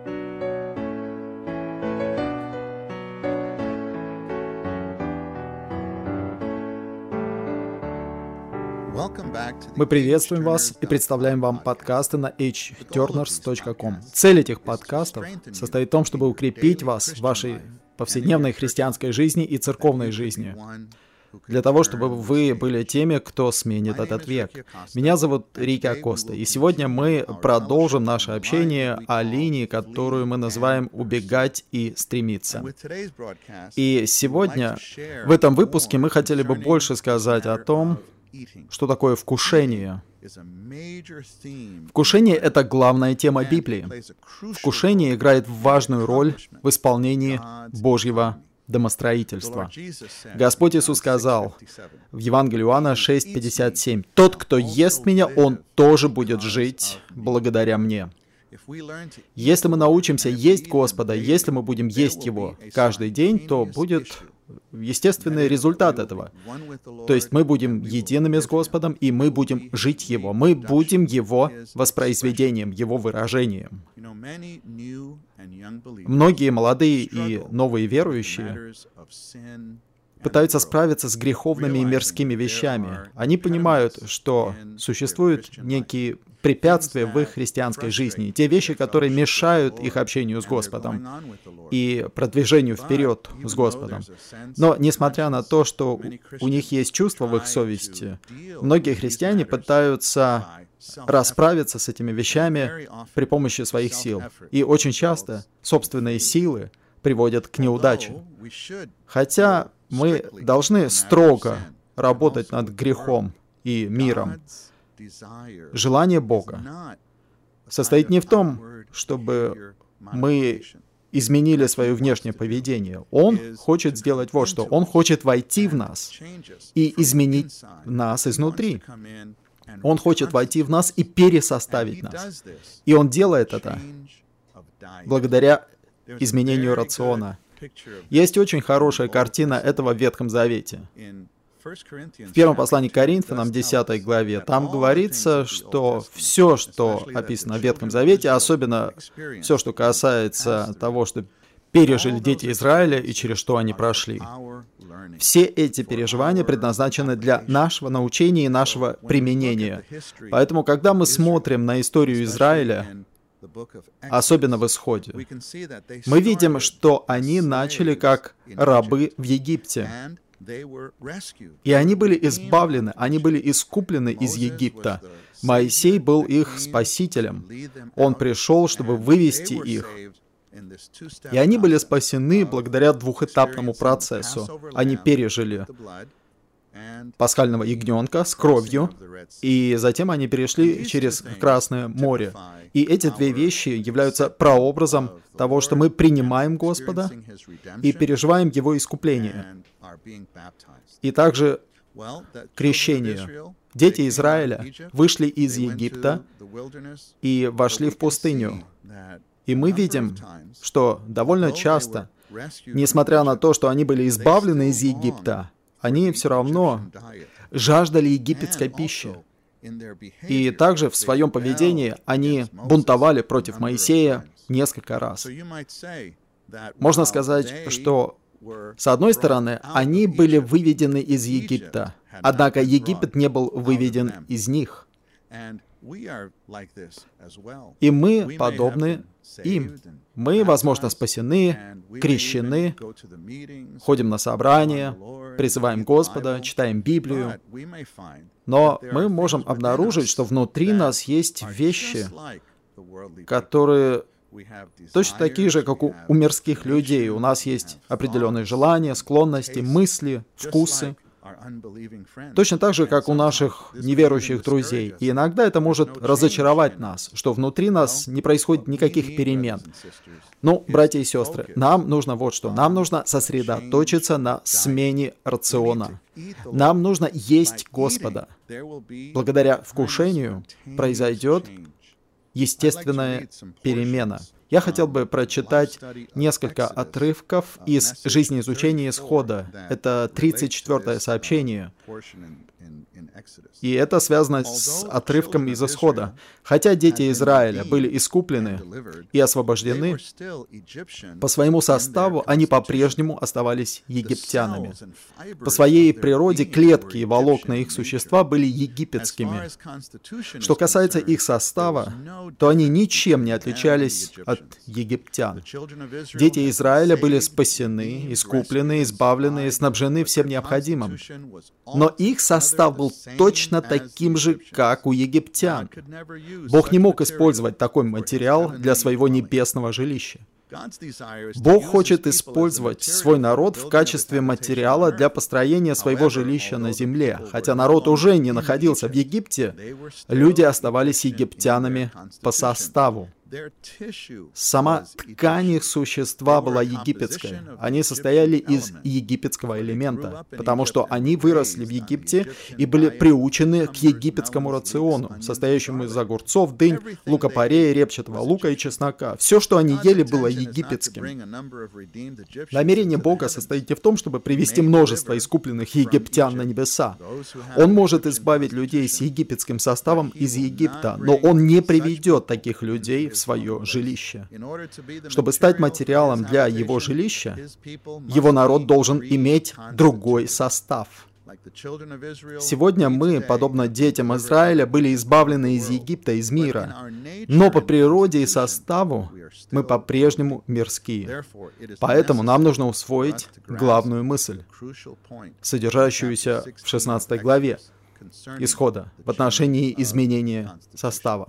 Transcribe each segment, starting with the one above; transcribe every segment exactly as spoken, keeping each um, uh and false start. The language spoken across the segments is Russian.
Мы приветствуем вас и представляем вам подкасты на эйч тернерс точка ком. Цель этих подкастов состоит в том, чтобы укрепить вас в вашей повседневной христианской жизни и церковной жизни, для того, чтобы вы были теми, кто сменит этот век. Меня зовут Рики Акоста, и сегодня мы продолжим наше общение о линии, которую мы называем «убегать и стремиться». И сегодня, в этом выпуске, мы хотели бы больше сказать о том, что такое вкушение. Вкушение — это главная тема Библии. Вкушение играет важную роль в исполнении Божьего домостроительства. Господь Иисус сказал в Евангелии Иоанна шесть пятьдесят семь: «Тот, кто ест Меня, он тоже будет жить благодаря Мне». Если мы научимся есть Господа, если мы будем есть Его каждый день, то будет естественный результат этого. То есть мы будем едиными с Господом, и мы будем жить Его. Мы будем Его воспроизведением, Его выражением. Многие молодые и новые верующие пытаются справиться с греховными и мирскими вещами. Они понимают, что существуют некие препятствия в их христианской жизни, те вещи, которые мешают их общению с Господом и продвижению вперед с Господом. Но, несмотря на то, что у них есть чувство в их совести, многие христиане пытаются расправиться с этими вещами при помощи своих сил. И очень часто собственные силы приводят к неудаче. Хотя мы должны строго работать над грехом и миром. Желание Бога состоит не в том, чтобы мы изменили свое внешнее поведение. Он хочет сделать вот что. Он хочет войти в нас и изменить нас изнутри. Он хочет войти в нас и пересоставить нас. И Он делает это благодаря изменению рациона. Есть очень хорошая картина этого в Ветхом Завете. В первом послании к Коринфянам, десятой главе, там говорится, что все, что описано в Ветхом Завете, особенно все, что касается того, что пережили дети Израиля и через что они прошли, все эти переживания предназначены для нашего научения и нашего применения. Поэтому, когда мы смотрим на историю Израиля, особенно в Исходе, мы видим, что они начали как рабы в Египте. И они были избавлены, они были искуплены из Египта. Моисей был их спасителем. Он пришел, чтобы вывести их. И они были спасены благодаря двухэтапному процессу. Они пережили пасхального ягненка с кровью, и затем они перешли через Красное море. И эти две вещи являются прообразом того, что мы принимаем Господа и переживаем Его искупление. И также крещение. Дети Израиля вышли из Египта и вошли в пустыню. И мы видим, что довольно часто, несмотря на то, что они были избавлены из Египта, они все равно жаждали египетской пищи. И также в своем поведении они бунтовали против Моисея несколько раз. Можно сказать, что, с одной стороны, они были выведены из Египта, однако Египет не был выведен из них. И мы подобны им. Мы, возможно, спасены, крещены, ходим на собрания, призываем Господа, читаем Библию. Но мы можем обнаружить, что внутри нас есть вещи, которые точно такие же, как у, у мирских людей. У нас есть определенные желания, склонности, мысли, вкусы. Точно так же, как у наших неверующих друзей. И иногда это может разочаровать нас, что внутри нас не происходит никаких перемен. Ну, братья и сестры, нам нужно вот что. Нам нужно сосредоточиться на смене рациона. Нам нужно есть Господа. Благодаря вкушению произойдет естественная перемена. Я хотел бы прочитать несколько отрывков из жизнеизучения Исхода. Это тридцать четвёртое сообщение. И это связано с отрывком из Исхода. Хотя дети Израиля были искуплены и освобождены, по своему составу они по-прежнему оставались египтянами. По своей природе клетки и волокна их существа были египетскими. Что касается их состава, то они ничем не отличались от египтян. Дети Израиля были спасены, искуплены, избавлены и снабжены всем необходимым. Но их состав был точно таким же, как у египтян. Бог не мог использовать такой материал для своего небесного жилища. Бог хочет использовать свой народ в качестве материала для построения своего жилища на земле. Хотя народ уже не находился в Египте, люди оставались египтянами по составу. Сама ткань их существа была египетской. Они состояли из египетского элемента, потому что они выросли в Египте и были приучены к египетскому рациону, состоящему из огурцов, дынь, лука-порея, репчатого лука и чеснока. Все, что они ели, было египетским. Намерение Бога состоит не в том, чтобы привести множество искупленных египтян на небеса. Он может избавить людей с египетским составом из Египта, но Он не приведет таких людей в свое жилище. Чтобы стать материалом для его жилища, его народ должен иметь другой состав. Сегодня мы, подобно детям Израиля, были избавлены из Египта, из мира, но по природе и составу мы по-прежнему мирские. Поэтому нам нужно усвоить главную мысль, содержащуюся в шестнадцатой главе Исхода в отношении изменения состава.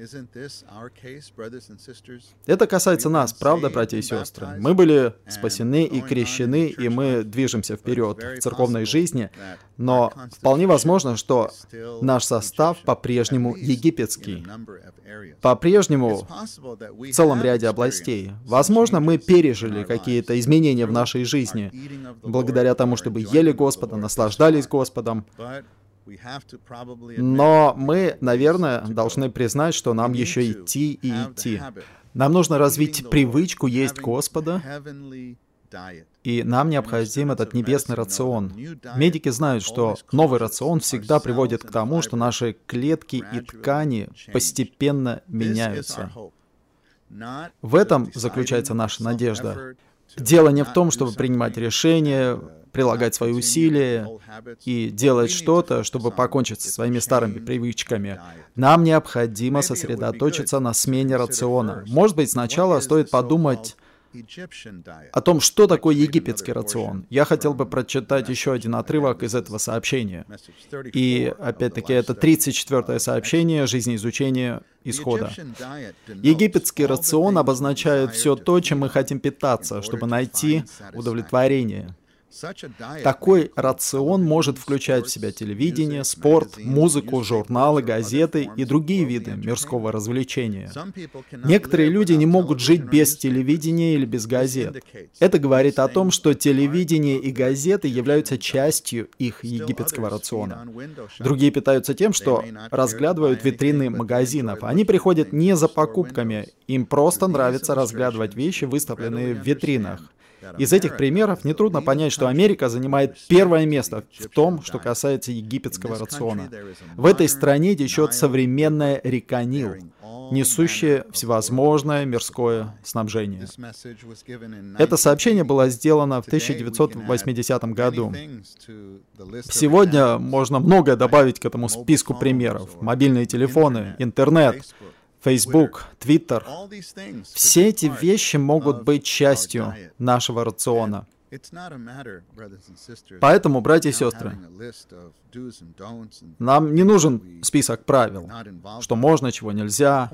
Это касается нас, правда, братья и сестры? Мы были спасены и крещены, и мы движемся вперед в церковной жизни, но вполне возможно, что наш состав по-прежнему египетский, по-прежнему в целом ряде областей. Возможно, мы пережили какие-то изменения в нашей жизни, благодаря тому, что мы ели Господа, наслаждались Господом. Но мы, наверное, должны признать, что нам еще идти и идти. Нам нужно развить привычку есть Господа, и нам необходим этот небесный рацион. Медики знают, что новый рацион всегда приводит к тому, что наши клетки и ткани постепенно меняются. В этом заключается наша надежда. Дело не в том, чтобы принимать решения, прилагать свои усилия и делать что-то, чтобы покончить со своими старыми привычками. Нам необходимо сосредоточиться на смене рациона. Может быть, сначала стоит подумать о том, что такое египетский рацион. Я хотел бы прочитать еще один отрывок из этого сообщения. И, опять-таки, это тридцать четвёртое сообщение жизнеизучения Исхода. Египетский рацион обозначает все то, чем мы хотим питаться, чтобы найти удовлетворение. Такой рацион может включать в себя телевидение, спорт, музыку, журналы, газеты и другие виды мирского развлечения. Некоторые люди не могут жить без телевидения или без газет. Это говорит о том, что телевидение и газеты являются частью их египетского рациона. Другие питаются тем, что разглядывают витрины магазинов. Они приходят не за покупками, им просто нравится разглядывать вещи, выставленные в витринах. Из этих примеров нетрудно понять, что Америка занимает первое место в том, что касается египетского рациона. В этой стране течет современная река Нил, несущая всевозможное мирское снабжение. Это сообщение было сделано в тысяча девятьсот восьмидесятом году. Сегодня можно многое добавить к этому списку примеров. Мобильные телефоны, интернет, Facebook, Twitter. Все эти вещи могут быть частью нашего рациона. Поэтому, братья и сестры, нам не нужен список правил, что можно, чего нельзя.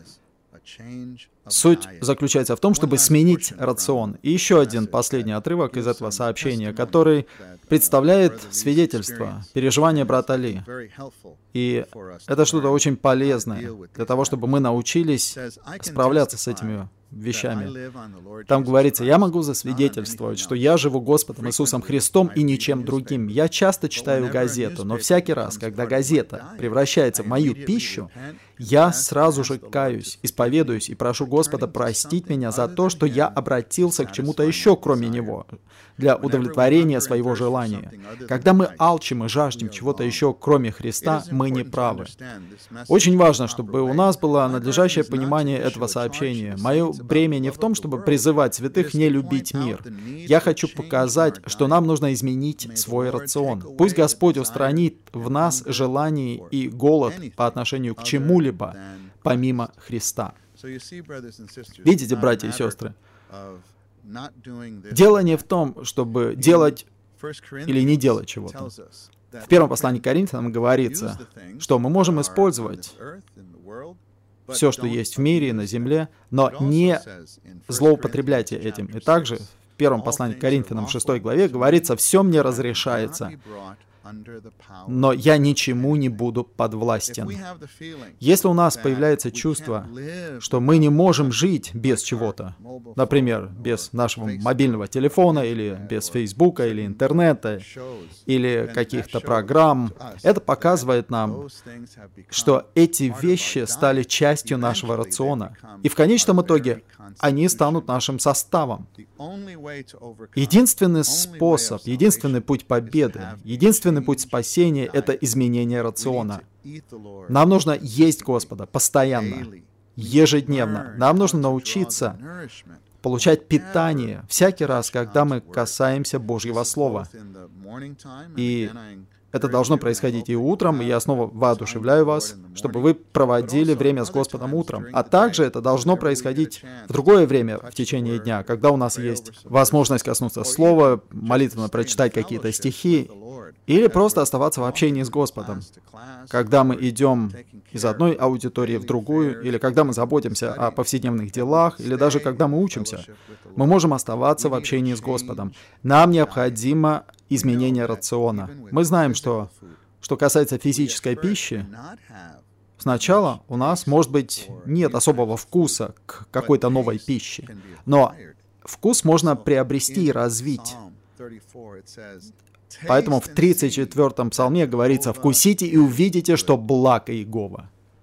Суть заключается в том, чтобы сменить рацион. И еще один последний отрывок из этого сообщения, который представляет свидетельство, переживания брата Ли. И это что-то очень полезное для того, чтобы мы научились справляться с этими вещами. Там говорится, я могу засвидетельствовать, что я живу Господом Иисусом Христом и ничем другим. Я часто читаю газету, но всякий раз, когда газета превращается в мою пищу, я сразу же каюсь, исповедуюсь и прошу Господа простить меня за то, что я обратился к чему-то еще, кроме Него, для удовлетворения своего желания. Когда мы алчим и жаждем чего-то еще, кроме Христа, мы не правы. Очень важно, чтобы у нас было надлежащее понимание этого сообщения. Мое бремя не в том, чтобы призывать святых не любить мир. Я хочу показать, что нам нужно изменить свой рацион. Пусть Господь устранит в нас желание и голод по отношению к чему-либо, помимо Христа. Видите, братья и сестры? Дело не в том, чтобы делать или не делать чего-то. В первом послании к Коринфянам говорится, что мы можем использовать все, что есть в мире и на земле, но не злоупотреблять этим. И также в первом послании к Коринфянам в шестой главе говорится, «Все мне разрешается, но я ничему не буду подвластен». Если у нас появляется чувство, что мы не можем жить без чего-то, например, без нашего мобильного телефона, или без Фейсбука, или интернета, или каких-то программ, это показывает нам, что эти вещи стали частью нашего рациона. И в конечном итоге они станут нашим составом. Единственный способ, единственный путь победы, единственный путь спасения — это изменение рациона. Нам нужно есть Господа постоянно, ежедневно. Нам нужно научиться получать питание всякий раз, когда мы касаемся Божьего Слова. И это должно происходить и утром, и я снова воодушевляю вас, чтобы вы проводили время с Господом утром. А также это должно происходить в другое время в течение дня, когда у нас есть возможность коснуться Слова, молитвенно прочитать какие-то стихи, или просто оставаться в общении с Господом. Когда мы идем из одной аудитории в другую, или когда мы заботимся о повседневных делах, или даже когда мы учимся, мы можем оставаться в общении с Господом. Нам необходимо изменение рациона. Мы знаем, что, что касается физической пищи, сначала у нас, может быть, нет особого вкуса к какой-то новой пище, но вкус можно приобрести и развить. Поэтому в тридцать четвёртом псалме говорится, «Вкусите и увидите, что благ Иегова».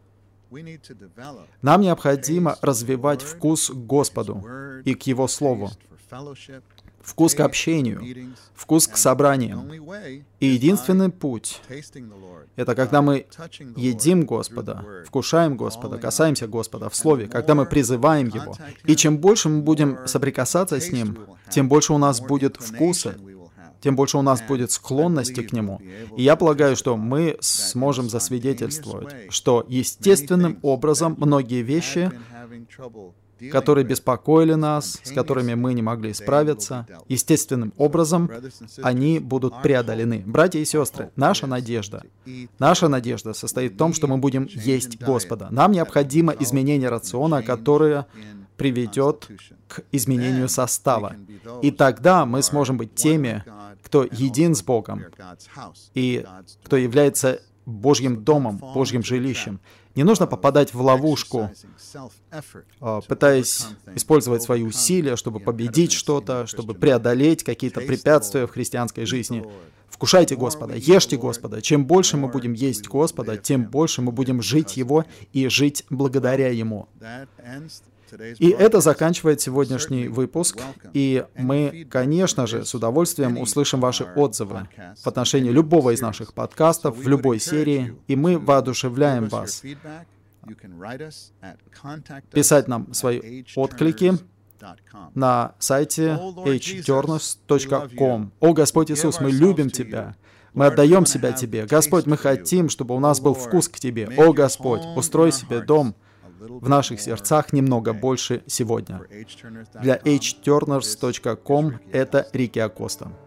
Нам необходимо развивать вкус к Господу и к Его Слову, вкус к общению, вкус к собраниям. И единственный путь — это когда мы едим Господа, вкушаем Господа, касаемся Господа в Слове, когда мы призываем Его. И чем больше мы будем соприкасаться с Ним, тем больше у нас будет вкуса, тем больше у нас будет склонности к Нему. И я полагаю, что мы сможем засвидетельствовать, что естественным образом многие вещи, которые беспокоили нас, с которыми мы не могли справиться, естественным образом они будут преодолены. Братья и сестры, наша надежда, наша надежда состоит в том, что мы будем есть Господа. Нам необходимо изменение рациона, которое приведет к изменению состава. И тогда мы сможем быть теми, кто един с Богом и кто является Божьим домом, Божьим жилищем. Не нужно попадать в ловушку, пытаясь использовать свои усилия, чтобы победить что-то, чтобы преодолеть какие-то препятствия в христианской жизни. Вкушайте Господа, ешьте Господа. Чем больше мы будем есть Господа, тем больше мы будем жить Его и жить благодаря Ему. И это заканчивает сегодняшний выпуск, и мы, конечно же, с удовольствием услышим ваши отзывы в отношении любого из наших подкастов, в любой серии, и мы воодушевляем вас писать нам свои отклики на сайте эйч тернерс точка ком. «О, Господь Иисус, мы любим Тебя, мы отдаем себя Тебе. Господь, мы хотим, чтобы у нас был вкус к Тебе. О, Господь, устрой себе дом в наших сердцах немного больше сегодня». Для эйч тернерс точка ком это Рики Акоста.